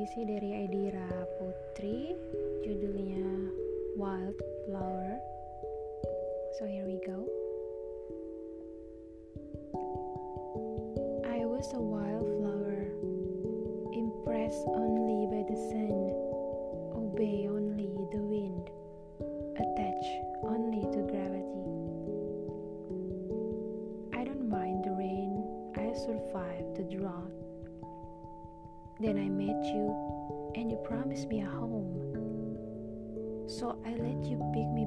puisi dari Aidira Putri, judulnya Wildflower. So here we go. I was a wildflower, impressed only by the sun, obey only the wind, attached only to gravity. I don't mind the rain, I survived the drought. Then I met you, and you promised me a home. So I let you pick me